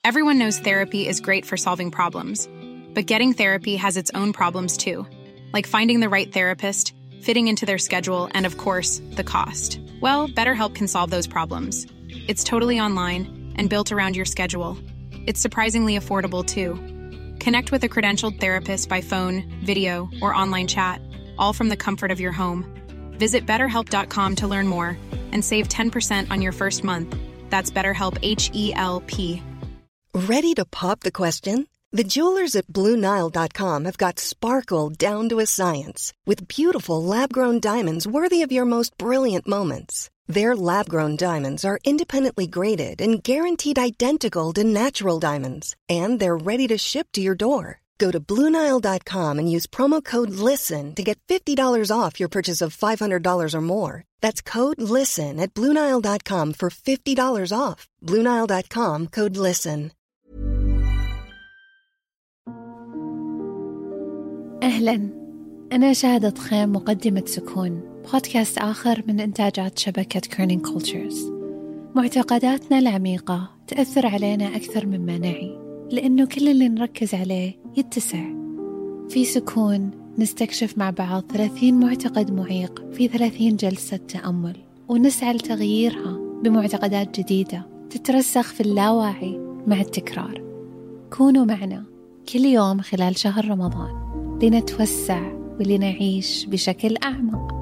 Everyone knows therapy is great for solving problems, but getting therapy has its own problems too, like finding the right therapist, fitting into their schedule, and of course, the cost. Well, BetterHelp can solve those problems. It's totally online and built around your schedule. It's surprisingly affordable too. Connect with a credentialed therapist by phone, video, or online chat, all from the comfort of your home. Visit BetterHelp.com to learn more and save 10% on your first month. That's BetterHelp, H-E-L-P. Ready to pop the question? The jewelers at BlueNile.com have got sparkle down to a science with beautiful lab-grown diamonds worthy of your most brilliant moments. Their lab-grown diamonds are independently graded and guaranteed identical to natural diamonds, and they're ready to ship to your door. Go to BlueNile.com and use promo code LISTEN to get $50 off your purchase of $500 or more. That's code LISTEN at BlueNile.com for $50 off. BlueNile.com, code LISTEN. أهلاً، أنا شاهدة خيم، مقدمة سكون، بودكاست آخر من إنتاجات شبكة كيرنينج كولتشرز. معتقداتنا العميقة تأثر علينا أكثر مما نعي، لأنه كل اللي نركز عليه يتسع. في سكون نستكشف مع بعض 30 معتقد معيق في 30 جلسة تأمل، ونسعى لتغييرها بمعتقدات جديدة تترسخ في اللاواعي مع التكرار. كونوا معنا كل يوم خلال شهر رمضان لنتوسع ولنعيش بشكل أعمق.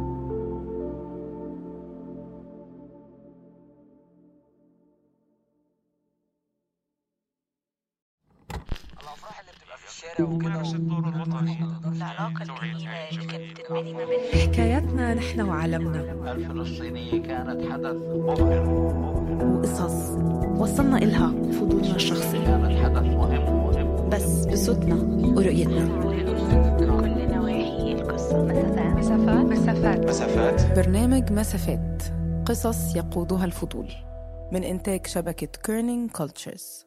الأفراح اللي بتبقى في الشارع وكده الدور الوطني العلاقة الجميلة اللي كانت بتنعدي ما بين حكاياتنا نحن وعالمنا. الفلسطينية كانت حدث مبهر وقصص وصلنا إلها بفضولنا الشخصي، كانت حدث مهم بس بصوتنا ورؤيتنا. كل نواحي القصة. مسافات. برنامج مسافات، قصص يقودها الفضول، من إنتاج شبكة كيرنينج كولتشرز.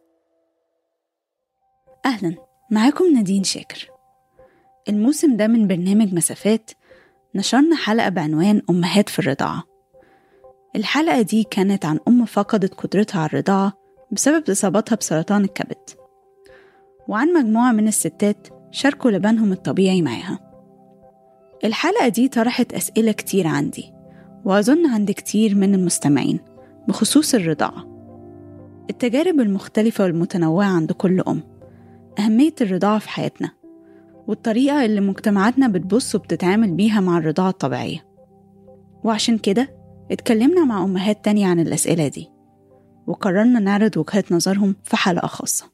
أهلاً، معاكم نادين شاكر. الموسم ده من برنامج مسافات نشرنا حلقة بعنوان أمهات في الرضاعة. الحلقة دي كانت عن أم فقدت قدرتها على الرضاعة بسبب إصابتها بسرطان الكبد، وعن مجموعة من الستات شاركوا لبنهم الطبيعي معاها. الحلقة دي طرحت أسئلة كتير عندي، وأظن عند كتير من المستمعين، بخصوص الرضاعة، التجارب المختلفة والمتنوعة عند كل أم، أهمية الرضاعة في حياتنا، والطريقة اللي مجتمعاتنا بتبص وبتتعامل بيها مع الرضاعة الطبيعية. وعشان كده اتكلمنا مع أمهات تانية عن الأسئلة دي، وقررنا نعرض وجهات نظرهم في حلقة خاصة.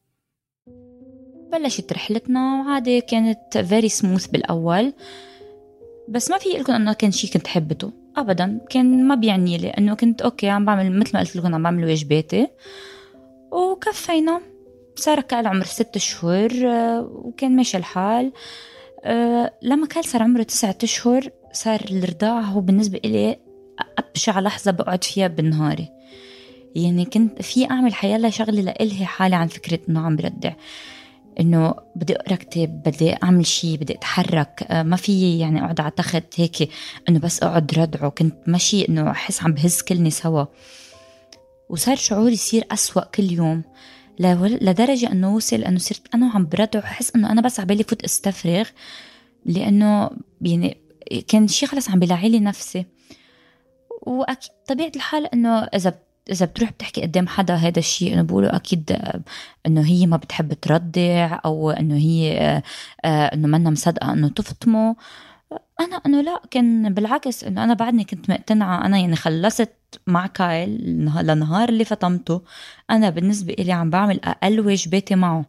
بلشت رحلتنا وعادي، كانت very smooth بالأول، بس ما في لكم أنه كان شيء كنت حبته أبدا. كان ما بيعني لي أنه كنت أوكي عم بعمل مثل ما قلت لكم، عم بعمل واجباتي وكفينا. صار كان عمر 6 شهور وكان ماشي الحال. لما كان صار عمره 9 أشهر صار الرضاعة هو بالنسبة إلي أبشع لحظة بقعد فيها بنهاري. يعني كنت في أعمل حيالله شغلة لإلهي حالي عن فكرة أنه عم بردع، إنه بدي أقرأ كتاب، بدي أعمل شيء، بدي أتحرك. ما في يعني أقعد على تخت هيك إنه بس أقعد ردعه. كنت ماشي إنه أحس عم بهز كلني سوا، وصار شعوري يصير أسوأ كل يوم، لدرجة أنه وصل أنه صرت أنا عم بردع وحس أنه أنا بس عبالي فوت استفرغ، لأنه يعني كان شيء خلص عم بلاعيلي نفسي. وأكيد طبيعة الحال أنه إذا بتروح بتحكي قدام حدا هذا الشيء، أنا بقوله أكيد أنه هي ما بتحب تردع، أو أنه هي أنه منا مصدقة أنه تفطمه. أنا أنه لا، كان بالعكس، أنه أنا بعدني كنت مقتنعة. أنا يعني خلصت مع كايل لنهار اللي فطمته، أنا بالنسبة إلي عم بعمل أقل واجباتي معه.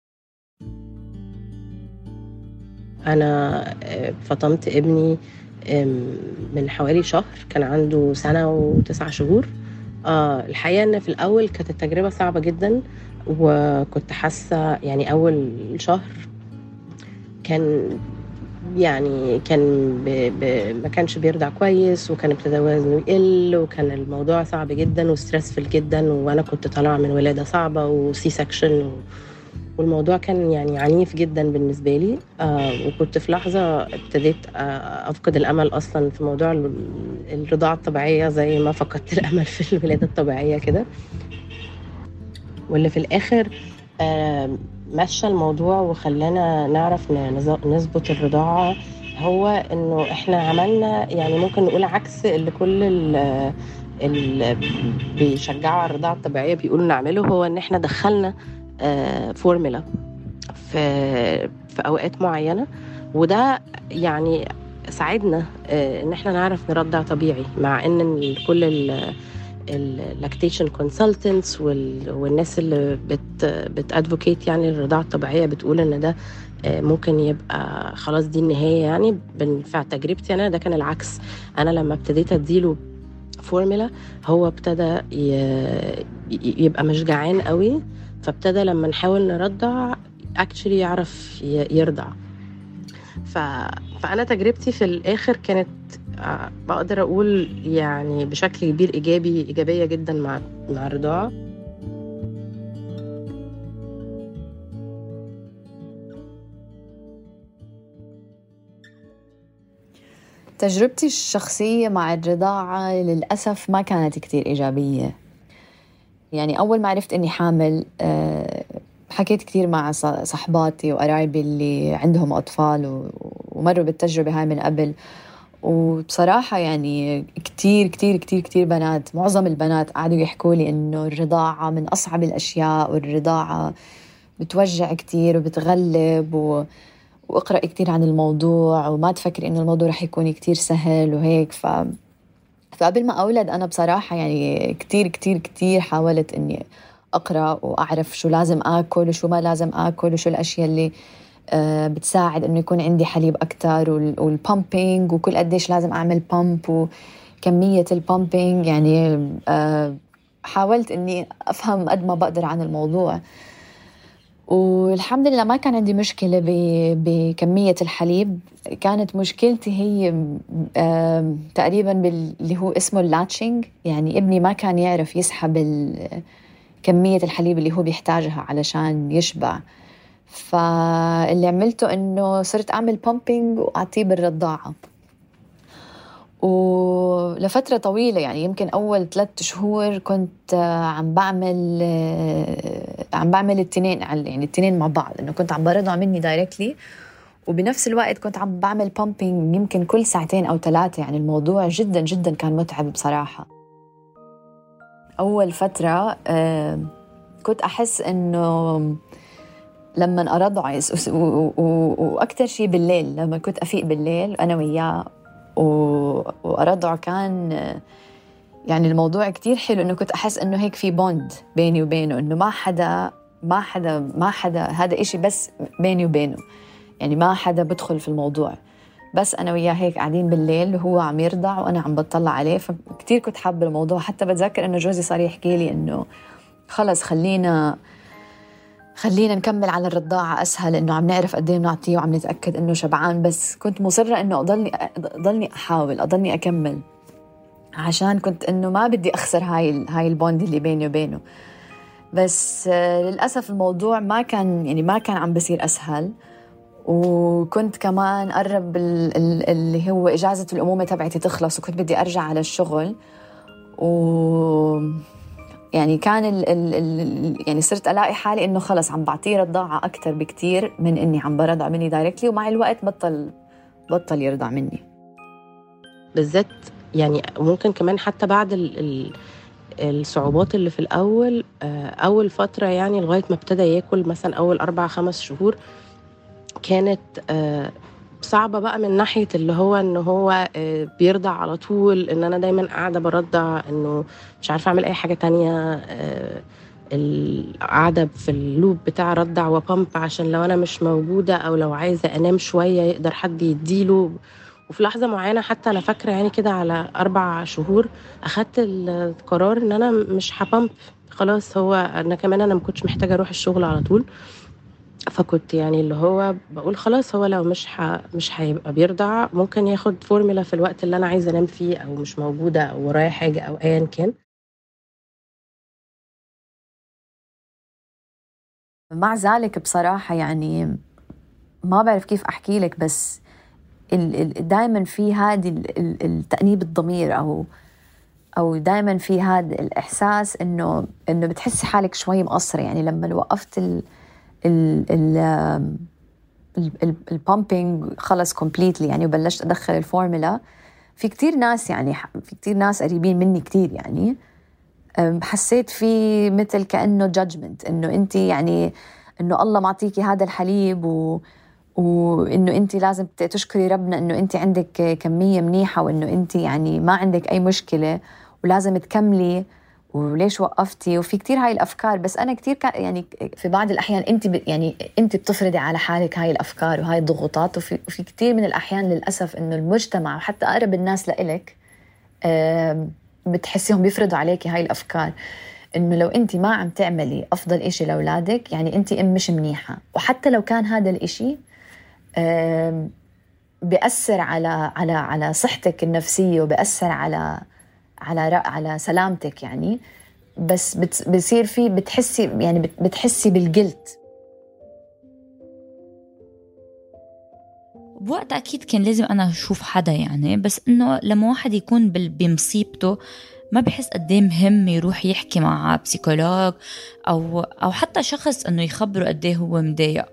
أنا فطمت ابني من حوالي شهر، كان عنده 1 سنة و9 شهور. الحقيقة أن في الأول كانت التجربة صعبة جدا، وكنت حاسة يعني أول شهر كان ما كانش بيرضع كويس، وكان ابتدى وزنه يقل، وكان الموضوع صعب جدا وستريسفل جدا، وانا كنت طالعه من ولاده صعبه وسي سكشن، والموضوع كان يعني عنيف جدا بالنسبه لي. وكنت في لحظه ابتديت افقد الامل اصلا في موضوع الرضاعه الطبيعيه، زي ما فقدت الامل في الولاده الطبيعيه كده. واللي في الآخر مشى الموضوع وخلانا نعرف نظبط الرضاعة هو إنه إحنا عملنا يعني ممكن نقول عكس اللي كل اللي بيشجعوا على الرضاعة الطبيعية بيقولوا نعمله، هو إن إحنا دخلنا فورمولا في أوقات معينة، وده يعني ساعدنا إن إحنا نعرف نرضع طبيعي، مع إن كل اللاكتيشن كونسلتنتس والناس اللي بتادفوكيت يعني الرضاعة الطبيعية بتقول إن ده ممكن يبقى خلاص دي النهاية. يعني في تجربتي أنا ده كان العكس. أنا لما ابتديت أديله فورمولا هو ابتدى يبقى مش جعان قوي، فابتدى لما نحاول نرضع actually يعرف يرضع. فأنا تجربتي في الآخر كانت بقدر أقول يعني بشكل كبير إيجابية جدا مع الرضاعة. تجربتي الشخصية مع الرضاعة للأسف ما كانت كتير إيجابية. يعني أول ما عرفت أني حامل حكيت كتير مع صحباتي وقرايبي اللي عندهم أطفال ومروا بالتجربة هاي من قبل، وبصراحة يعني كتير كتير كتير كتير بنات، معظم البنات قعدوا يحكوا لي إنه الرضاعة من أصعب الأشياء، والرضاعة بتوجع كتير وبتغلب، وأقرأ كتير عن الموضوع وما تفكر إنه الموضوع رح يكون كتير سهل وهيك. فقبل ما أولد أنا بصراحة يعني كتير كتير كتير حاولت إني أقرأ وأعرف شو لازم آكل وشو ما لازم آكل، وشو الأشياء اللي بتساعد إنه يكون عندي حليب أكتر، والبامبينج وكل قديش لازم أعمل بامب وكمية البامبينج. يعني حاولت إني أفهم قد ما بقدر عن الموضوع، والحمد لله ما كان عندي مشكلة بكمية الحليب. كانت مشكلتي هي تقريبا باللي هو اسمه اللاتشينج. يعني ابني ما كان يعرف يسحب كمية الحليب اللي هو بيحتاجها علشان يشبع، فاللي عملته إنه صرت أعمل بامبينج وأعطيه بالرضاعة، ولفترة طويلة يعني يمكن أول 3 شهور كنت عم بعمل التنين، يعني التنين مع بعض، إنه كنت عم برضع مني دايركتلي وبنفس الوقت كنت عم بعمل بامبينج يمكن كل 2 أو 3 يعني الموضوع جدا جدا كان متعب بصراحة. أول فترة كنت أحس إنه لما أرضع وأكتر شيء بالليل، لما كنت أفيق بالليل أنا وياه وأرضع، كان يعني الموضوع كتير حلو، إنه كنت أحس إنه هيك في بوند بيني وبينه، إنه ما حدا هذا إشي بس بيني وبينه، يعني ما حدا بدخل في الموضوع، بس أنا وياه هيك قاعدين بالليل وهو عم يرضع وأنا عم بطلع عليه. فكتير كنت حابة الموضوع. حتى بتذكر إنه جوزي صار يحكي لي إنه خلص خلينا نكمل على الرضاعة أسهل، إنه عم نعرف قد إيه نعطيه وعم نتأكد إنه شبعان. بس كنت مصرة إنه أضلني أحاول أضلني أكمل، عشان كنت إنه ما بدي أخسر هاي البوند اللي بيني وبينه. بس للأسف الموضوع ما كان عم بصير أسهل، وكنت كمان قرب اللي هو إجازة الأمومة تبعتي تخلص، وكنت بدي أرجع على الشغل، يعني كان يعني صرت ألاقي حالي إنه خلص عم بعطيه رضاعة أكتر بكتير من إني عم برضع مني دايركتلي، ومع الوقت بطل يرضع مني بالذات. يعني ممكن كمان حتى بعد الصعوبات اللي في الأول، أول فترة يعني لغاية ما ابتدى ياكل مثلا أول 4-5 شهور كانت صعبة بقى من ناحية اللي هو إنه هو بيرضع على طول، إن أنا دايما قاعدة برضع، إنه مش عارفة أعمل أي حاجة تانية، القاعدة في اللوب بتاع رضع وبامب عشان لو أنا مش موجودة أو لو عايزة أنام شوية يقدر حد يديله. وفي لحظة معينة حتى أنا فاكرة يعني كده على 4 شهور أخدت القرار إن أنا مش هبامب خلاص. هو أنا كمان أنا مكنتش محتاجة أروح الشغل على طول، فكنت يعني اللي هو بقول خلاص هو لو مش هيبقى بيرضع ممكن ياخد فورمولا في الوقت اللي أنا عايزة أنام فيه أو مش موجودة أو ورايا حاجة أو أيا كان. مع ذلك بصراحة يعني ما بعرف كيف أحكي لك، بس دائما في هذه التأنيب الضمير أو دائما في هذا الإحساس إنه بتحسي حالك شوي مقصرة. يعني لما وقفت البامبينج خلص كومبليتلي يعني وبلشت أدخل الفورمولا، في كتير ناس يعني في كتير ناس قريبين مني كتير يعني حسيت في مثل كأنه judgment، إنه أنت يعني إنه الله معطيكي هذا الحليب وإنه أنت لازم تشكري ربنا إنه أنت عندك كمية منيحة، وإنه أنت يعني ما عندك أي مشكلة ولازم تكملي، وليش وقفتي؟ وفي كتير هاي الأفكار. بس أنا كتير يعني في بعض الأحيان يعني أنت بتفرضي على حالك هاي الأفكار وهاي الضغوطات، وفي كتير من الأحيان للأسف إنه المجتمع وحتى أقرب الناس لإلك بتحسيهم بيفرضوا عليكي هاي الأفكار، إنه لو أنت ما عم تعملي أفضل إشي لأولادك يعني أنت مش منيحة. وحتى لو كان هذا الإشي بيأثر على صحتك النفسية وبيأثر على سلامتك يعني، بس بصير في بتحسي بالجلت. بوقت أكيد كان لازم أنا أشوف حدا يعني، بس إنه لما واحد يكون بمصيبته ما بحس قديه مهم يروح يحكي مع بسيكولوج أو حتى شخص إنه يخبره قديه هو مضايق.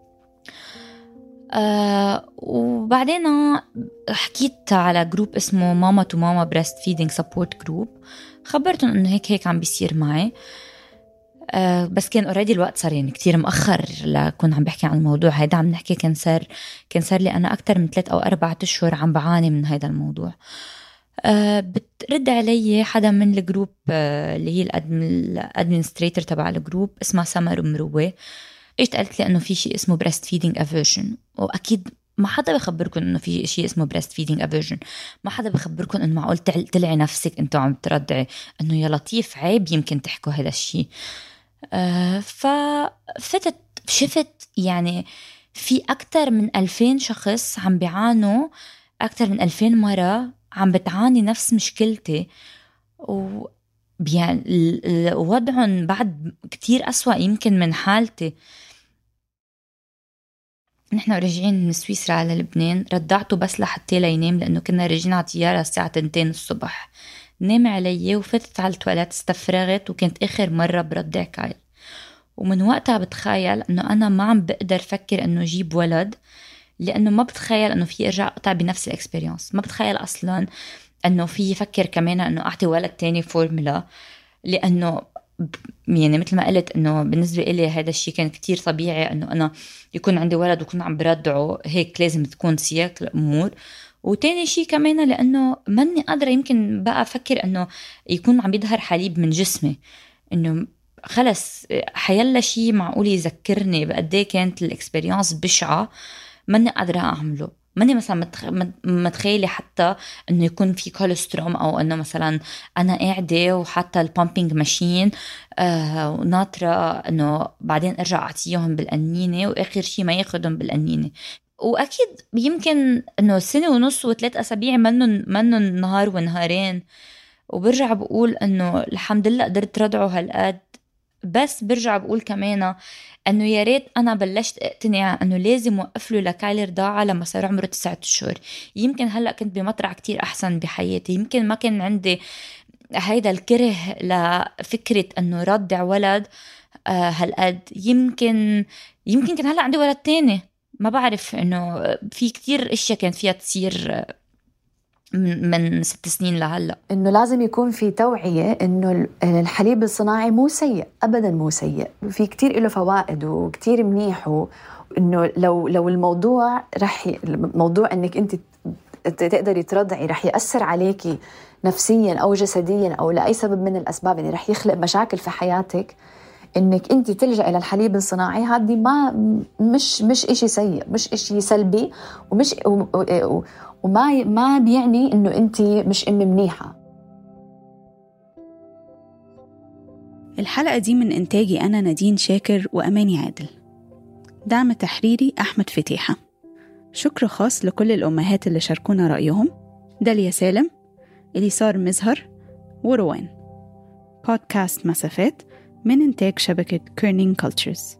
وبعدين حكيت على جروب اسمه ماما تو ماما بريست فيدينج سبورت جروب، خبرتهم إنه هيك عم بيصير معي. بس كان اوريدي الوقت صار يعني كتير مأخر لكون عم بحكي عن الموضوع هيدا. عم نحكي كان صار لي أنا أكتر من 3 أو 4 أشهر عم بعاني من هيدا الموضوع. بترد علي حدا من الجروب اللي هي الادمنستريتور تبع الجروب، اسمها سمر مروه. ايش قالت لي انه في شيء اسمه بريست فيدينج افيرجن، واكيد ما حدا بخبركم انه في شيء اسمه بريست فيدينج افيرجن. ما حدا بخبركم انه معقول تلعي نفسك انتوا عم ترضعي، انه يا لطيف عيب يمكن تحكوا هذا الشيء. شفت يعني في أكتر من 2000 شخص عم بيعانوا، أكتر من 2000 مرة عم بتعاني نفس مشكلتي، يعني وضعهم بعد كتير أسوأ يمكن من حالتي. نحن راجعين من سويسرا على لبنان، رضعته بس لحتى ينام لأنه كنا راجعين على طيارة الساعة 2 الصبح. نام علي وفتت على التواليت استفرغت، وكانت آخر مرة برضع كايل. ومن وقتها بتخيل أنه أنا ما عم بقدر فكر أنه جيب ولد، لأنه ما بتخيل أنه في أرجع أقطع بنفس الإكسبرينس. ما بتخيل أصلاً أنه في يفكر كمان أنه أعطي ولد تاني فورمولا، لأنه يعني مثل ما قلت أنه بالنسبة إلي هذا الشيء كان كتير طبيعي أنه أنا يكون عندي ولد وكون عم برضعه، هيك لازم تكون سياق الأمور. وتاني شيء كمان لأنه ماني قادرة يمكن بقى أفكر أنه يكون عم يظهر حليب من جسمي، أنه خلص حيلا شيء معقول يذكرني بقديه كانت الإكسبرينس بشعة ماني قادرة أعمله. ماني مثلا متخيلة حتى أنه يكون في كوليستروم، أو أنه مثلا أنا قاعدة وحتى البامبينج ماشين وناطرة أنه بعدين أرجع أعطيهم بالقنينة وآخر شيء ما ياخدهم بالقنينة. وأكيد يمكن أنه 1.5 و3 أسابيع منن نهار ونهارين، وبرجع بقول أنه الحمد لله قدرت ردعه هالقد. بس برجع بقول كمان أنه يا ريت أنا بلشت اقتنع أنه لازم وقف له لكايل رضاعة لما صار عمره 9 أشهر. يمكن هلأ كنت بمطرح كتير أحسن بحياتي، يمكن ما كان عندي هيدا الكره لفكرة أنه رضع ولد هالقد. يمكن كان هلأ عندي ولد تاني، ما بعرف. أنه في كتير أشياء كانت فيها تصير من 6 سنين لهلأ. إنه لازم يكون في توعية إنه الحليب الصناعي مو سيء أبداً، مو سيء، في كتير له فوائد وكتير منيح. وإنه لو الموضوع الموضوع إنك أنت تقدري ترضعي رح يأثر عليكي نفسياً أو جسدياً أو لأي سبب من الأسباب، يعني رح يخلق مشاكل في حياتك، إنك أنت تلجأ إلى الحليب الصناعي هذه مش إشي سيء، مش إشي سلبي، وما بيعني إنه أنت مش منيحة. الحلقة دي من إنتاجي أنا نادين شاكر وأماني عادل، دعم تحريري أحمد فتيحة. شكر خاص لكل الأمهات اللي شاركونا رأيهم: داليا سالم، إليسار مزهر، وروان. بودكاست مسافات من إنتاج شبكة كيرنينج كولتشرز.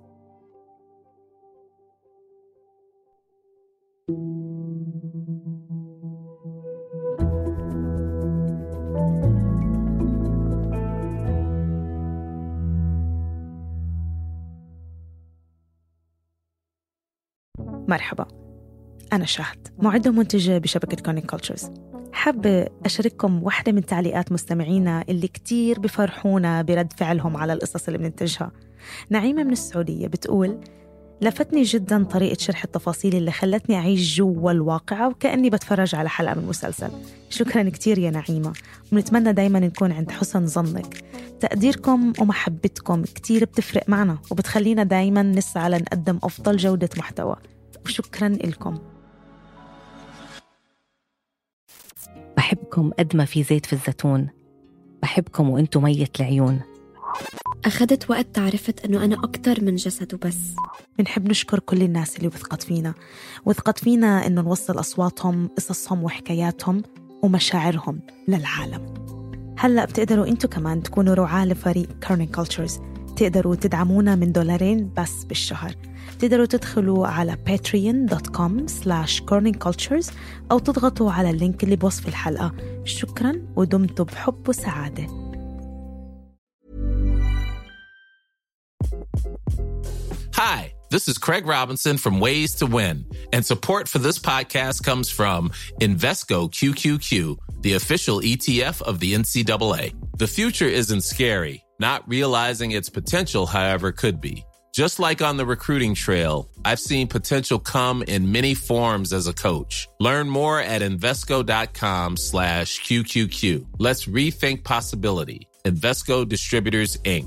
مرحبا، أنا شاهد، معدة ومنتجة بشبكة كورنينج كولتشرز. حابة أشارككم واحدة من تعليقات مستمعينا اللي كتير بفرحونا برد فعلهم على القصص اللي بننتجها. نعيمة من السعودية بتقول: لفتني جدا طريقة شرح التفاصيل اللي خلتني أعيش جوا الواقعة وكأني بتفرج على حلقة من مسلسل. شكرا كتير يا نعيمة، ونتمنى دايما نكون عند حسن ظنك. تقديركم ومحبتكم كتير بتفرق معنا وبتخلينا دايما نسعى لنقدم أفضل جودة محتوى، وشكرا لكم. بحبكم قد ما في زيت في الزيتون، بحبكم وانتو مية العيون. أخذت وقت تعرفت أنه أنا أكتر من جسد وبس. بنحب نشكر كل الناس اللي وثقت فينا إنه نوصل أصواتهم، قصصهم وحكاياتهم ومشاعرهم للعالم. هلأ بتقدروا أنتوا كمان تكونوا رعاة لفريق كورنينج كولتشرز. تقدروا تدعمونا من $2 بس بالشهر. تقدروا تدخلوا على patreon.com/corningcultures أو تضغطوا على اللينك اللي بوصف الحلقة. شكراً ودمتم بحب وسعادة. Hi, this is Craig Robinson from Ways to Win, and support for this podcast comes from Invesco QQQ, the official ETF of the NCAA. The future isn't scary. Not realizing its potential, however, could be. Just like on the recruiting trail, I've seen potential come in many forms as a coach. Learn more at Invesco.com/QQQ. Let's rethink possibility. Invesco Distributors, Inc.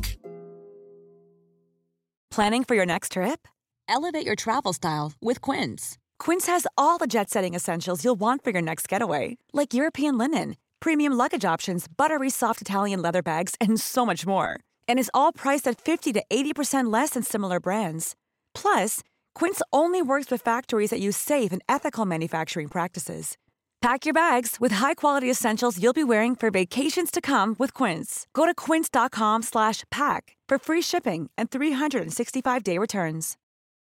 Planning for your next trip? Elevate your travel style with Quince. Quince has all the jet-setting essentials you'll want for your next getaway, like European linen, premium luggage options, buttery soft Italian leather bags, and so much more. And is all priced at 50 to 80% less than similar brands. Plus, Quince only works with factories that use safe and ethical manufacturing practices. Pack your bags with high-quality essentials you'll be wearing for vacations to come with Quince. Go to quince.com/pack for free shipping and 365-day returns.